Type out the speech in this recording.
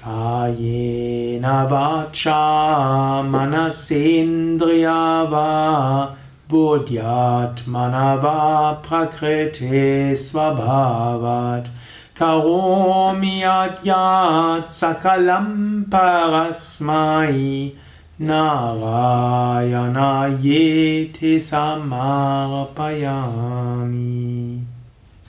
Kayena vacha manasendriya va buddhyatmana va prakriti svabhavat karomi yat sakalam parasmai narayana yeti samarpayami.